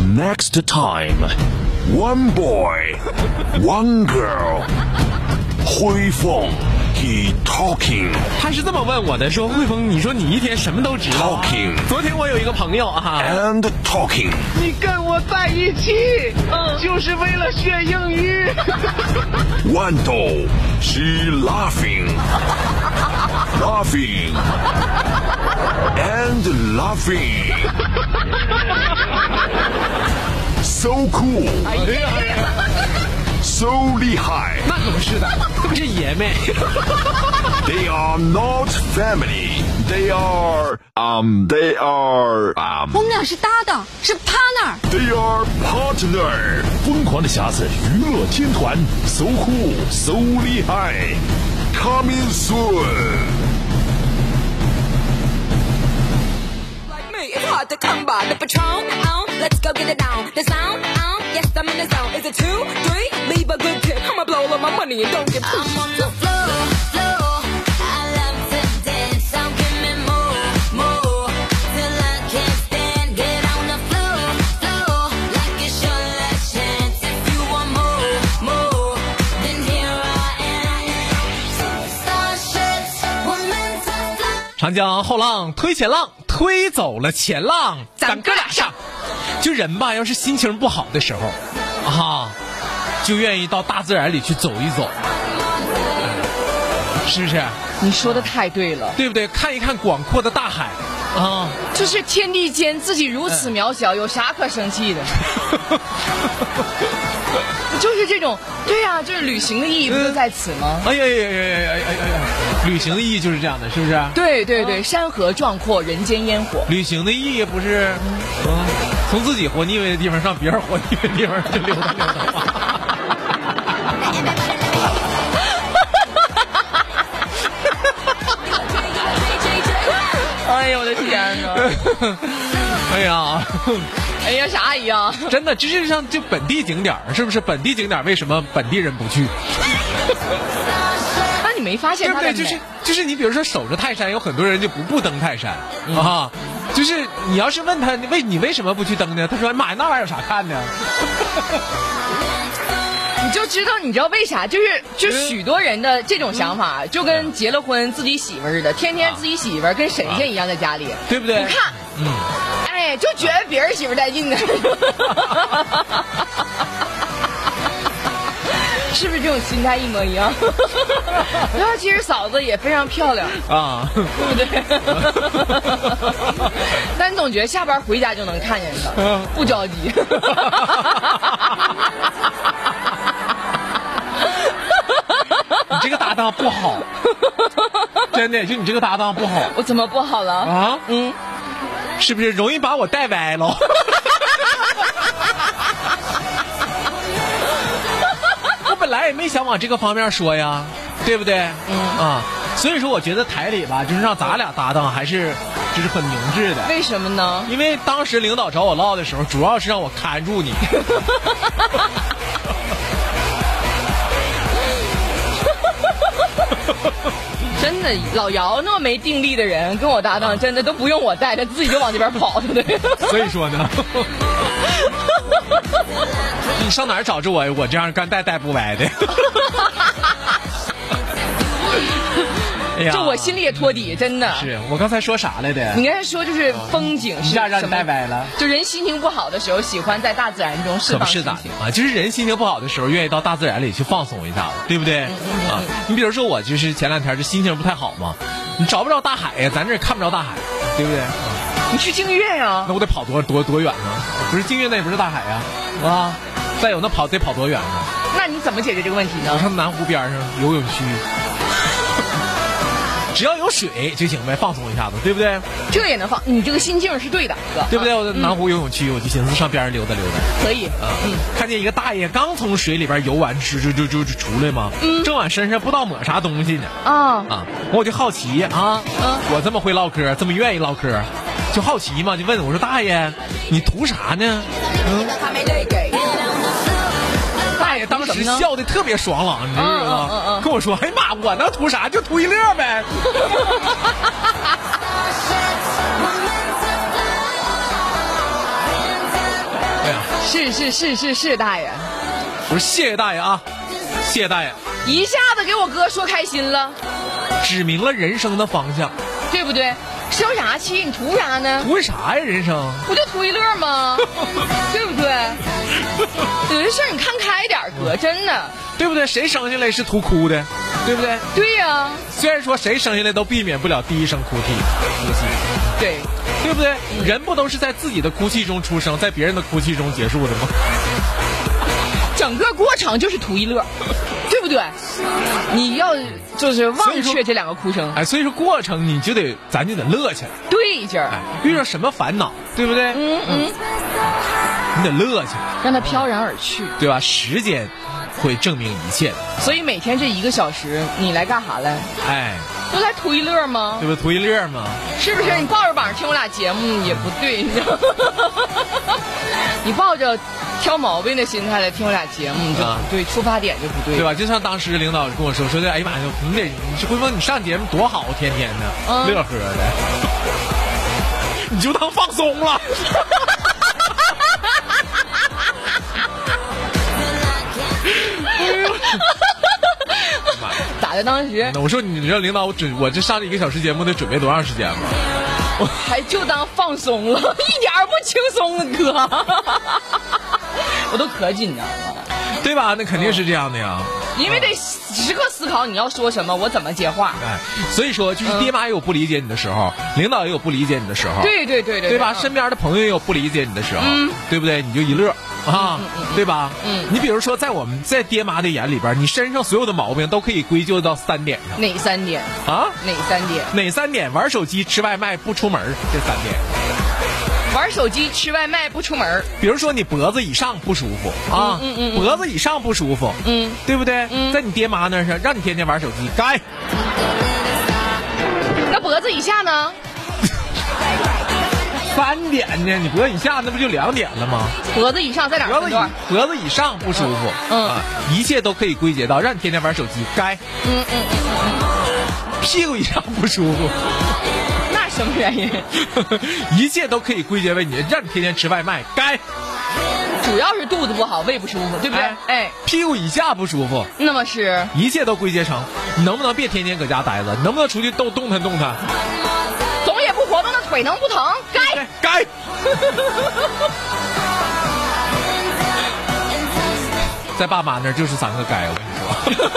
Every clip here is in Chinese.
Next time, one boy, one girl. 汇丰 he talking， 他是这么问我的，说汇丰，你说你一天什么都知道。 Talking， 昨天我有一个朋友啊 ，and talking， 你跟我在一起，就是为了学英语。 豌豆 she laughing，laughing and laughing，so cool， so 厉害。 那可不是的，特别是爷们。 They are not family. They are. 我们俩是搭档，是 partner。 They are partner. 疯狂的匣子娱乐天团 ，so cool, so 厉害 ，coming soon. It's hard to come by the Patron. Let's go get it down. The sound. Yes, I'm in the zone. Is it 2, 3? Leave a good tip. I'ma blow all my money and don't get pushed. I'm on the floor. I love to dance. So give me more till I can't stand. Get on the floor like it's your last chance. If you want more, then here I am. Starships were meant to fly. 长江后浪推前浪，推走了前浪，咱哥俩上。就人吧，要是心情不好的时候，就愿意到大自然里去走一走，是不是？ 你说的太对了， 对不对？看一看广阔的大海啊， 就是天地间自己如此渺小，有啥可生气的？就是这种，对呀，就是旅行的意义不就在此吗？ 哎呀，旅行的意义就是这样的，是不是？ 对，山河壮阔，人间烟火。 旅行的意义不是，从自己活腻歪的地方上别人活腻歪的地方去溜达溜达吗？ 哎呦我的天哪！哎呀，啥一样？ 真的，就是像就本地景点，是不是？本地景点为什么本地人不去？ 那你没发现它的美？ 对不对？就是你比如说守着泰山，有很多人就不登泰山啊。就是你要是问他你为什么不去登呢？他说妈呀，那玩意儿有啥看的？ 你知道为啥？就许多人的这种想法，就跟结了婚自己媳妇似的，天天自己媳妇跟神仙一样在家里， 对不对？ 不看，哎，就觉得别人媳妇带劲呢。是不是这种心态一模一样？然后其实嫂子也非常漂亮啊，对不对？但总觉得下班回家就能看见她，不着急。 你这个搭档不好，真的，就你这个搭档不好。 我怎么不好了啊？ 是不是容易把我带歪了？我本来也没想往这个方面说呀，对不对？所以说我觉得台里吧，就是让咱俩搭档还是就是很明智的。 为什么呢？ 因为当时领导找我唠的时候，主要是让我看住你。 真的，老姚那么没定力的人跟我搭档，真的都不用我带，他自己就往这边跑，对不对？ 所以说呢，你上哪儿找着我这样干带不歪的？哎呀， 就我心里也托底，真的。 是我刚才说啥来的？ 你刚才说就是风景是让你带歪了。 就人心情不好的时候，喜欢在大自然中释放心情。 可不是的啊，就是人心情不好的时候，愿意到大自然里去放松一下子，对不对？你比如说我就是前两天这心情不太好嘛，你找不着大海呀，咱这看不着大海，对不对？ 你去净月呀？ 那我得跑多远呢？不是净月那也不是大海呀，啊！再有那得跑多远呢？ 那你怎么解决这个问题呢？ 我上南湖边上游泳区。只要有水就行呗，放松一下子，对不对？ 这也能放，你这个心境是对的，哥， 对不对？我在南湖游泳区，我就寻思上边上溜达溜达。 可以， 看见一个大爷刚从水里边游完，就出来嘛，正往身上不知道抹啥东西呢。我就好奇啊，我这么会唠嗑，这么愿意唠嗑，就好奇嘛，就问我说大爷，你图啥呢？大爷当时笑得特别爽朗，你知道吗？跟我说：“哎呀妈，我能图啥？就图一乐呗。”哎呀， 是，大爷。 我说谢谢大爷啊，谢谢大爷， 一下子给我哥说开心了， 指明了人生的方向， 对不对？生啥气？你图啥呢？ 图啥呀？人生不就图一乐吗？对不对？有些事儿你看开点，哥，真的， 对不对？谁生下来是图哭的，对不对？ 对呀。 虽然说谁生下来都避免不了第一声哭泣， 对， 对不对？人不都是在自己的哭泣中出生，在别人的哭泣中结束的吗？ 整个过程就是图一乐，对不对？你要就是忘却这两个哭声， 所以说过程咱就得乐起来， 对劲儿。 遇到什么烦恼，对不对？你得乐起来， 让它飘然而去， 对吧？时间会证明一切的。 所以每天这1个小时，你来干啥来？都来图一乐吗？ 对不对？图一乐吗？ 是不是？你抱着膀听我俩节目也不对，你知道吗？你抱着挑毛病的心态来听我俩节目，你就不对，出发点就不对， 对吧？就像当时领导跟我说的，哎呀妈呀，你回头你上节目多好，天天的乐呵的，你就当放松了。 咋的？当时我说你知道领导我这上1个小时节目得准备多长时间吗？ 我还就当放松了，一点不轻松啊，哥。我都可紧张了， 对吧？那肯定是这样的呀， 因为得时刻思考你要说什么，我怎么接话。 所以说就是爹妈也有不理解你的时候，领导也有不理解你的时候，对吧？身边的朋友也有不理解你的时候，对不对？你就一乐啊，对吧？你比如说在爹妈的眼里边，你身上所有的毛病都可以归咎到3点上。 哪3点啊？ 哪3点？ 玩手机、吃外卖、不出门，这3点。 玩手机、吃外卖、不出门。 比如说你脖子以上不舒服啊，脖子以上不舒服，对不对？在你爹妈那上，让你天天玩手机，该。 那脖子以下呢 ？3点呢？你脖子以下那不就2点了吗？ 脖子以上在哪儿？ 脖子以上不舒服，一切都可以归结到让你天天玩手机，该。屁股以上不舒服。 什么原因？ 一切都可以归结为你让你天天吃外卖，该。 主要是肚子不好，胃不舒服，对不对？ 屁股以下不舒服， 那么是一切都归结成你能不能别天天搁家待着，你能不能出去动弹？ 总也不活动的腿能不疼？ 该。在爸妈那儿就是3个该，我跟你说。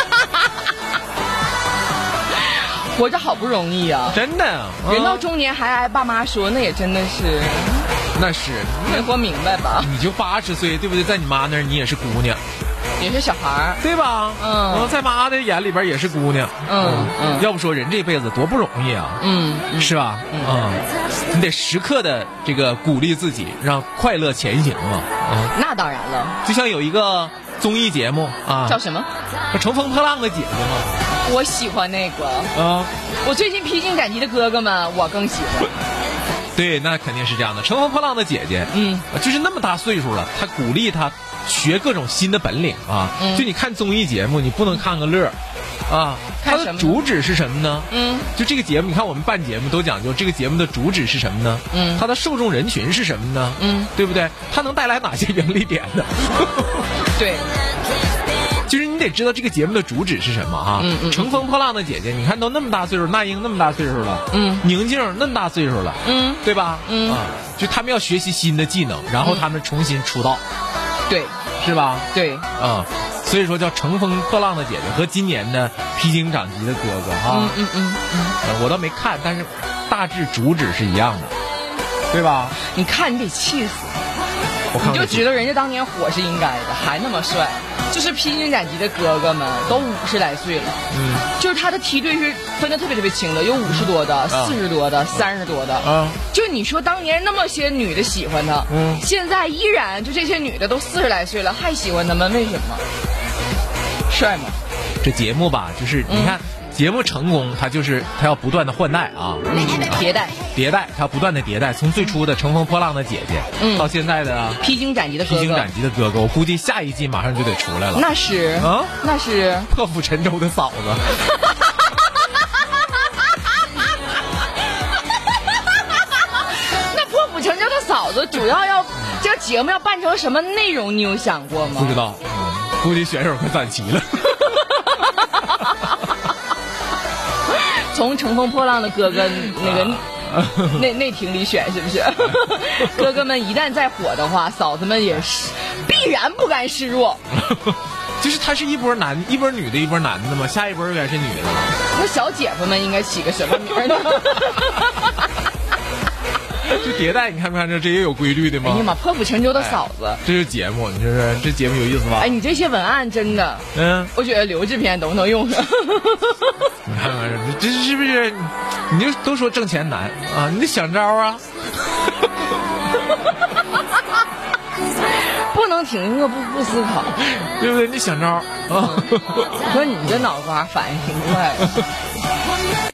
活着好不容易啊， 真的。 人到中年还挨爸妈说，那也真的是， 那是没活明白吧？ 你就80岁，对不对？在你妈那儿你也是姑娘， 也是小孩儿， 对吧？在妈的眼里边也是姑娘。要不说人这辈子多不容易啊，是吧？你得时刻的这个鼓励自己，让快乐前行啊。 那当然了， 就像有一个综艺节目啊， 叫什么？ 乘风破浪的姐姐嘛。 我喜欢那个我最近披荆斩棘的哥哥们，我更喜欢。 对，那肯定是这样的。乘风破浪的姐姐，就是那么大岁数了，她鼓励她学各种新的本领啊。就你看综艺节目，你不能看个乐啊。它的主旨是什么呢？就这个节目，你看我们办节目都讲究这个节目的主旨是什么呢？它的受众人群是什么呢？对不对？它能带来哪些盈利点呢？ 对。 就是你得知道这个节目的主旨是什么哈。乘风破浪的姐姐，你看都那么大岁数，那英那么大岁数了，宁静那么大岁数了，对吧？就他们要学习新的技能，然后他们重新出道， 对， 是吧？ 对， 所以说叫乘风破浪的姐姐和今年的披荆斩棘的哥哥哈。我倒没看，但是大致主旨是一样的，对吧？ 你看你得气死，你就知道人家当年火是应该的，还那么帅。就是披荆斩棘的哥哥们都50来岁了，就是他的梯队是分得特别特别清的，有50多的、40多的、30多的，就你说当年那么些女的喜欢他，现在依然就这些女的都40来岁了还喜欢他们，为什么？帅吗？ 这节目吧，就是你看。节目成功，它要不断的换代啊， 迭代， 它要不断的迭代。从最初的乘风破浪的姐姐，到现在的披荆斩棘的哥哥，我估计下一季马上就得出来了。 那是那是破釜沉舟的嫂子。 那破釜沉舟的嫂子主要要这个节目要办成什么内容，你有想过吗？ 不知道，估计选手快攒齐了。 从乘风破浪的哥哥那庭里选是不是？哥哥们一旦再火的话，嫂子们也是必然不甘示弱。 就是他是一波女的，一波男的嘛，下一波应该是女的。 那小姐夫们应该起个什么名呢？ 就迭代，你看没看这也有规律的吗？ 哎呀妈，破釜沉舟的嫂子， 这是节目，你说说这节目有意思吧？ 哎，你这些文案真的，我觉得留制片都能用上。 你看看这是不是？你就都说挣钱难啊，你得想招啊。 不能停饿不思考， 对不对？你想招啊？ 可你这脑瓜反应挺快的。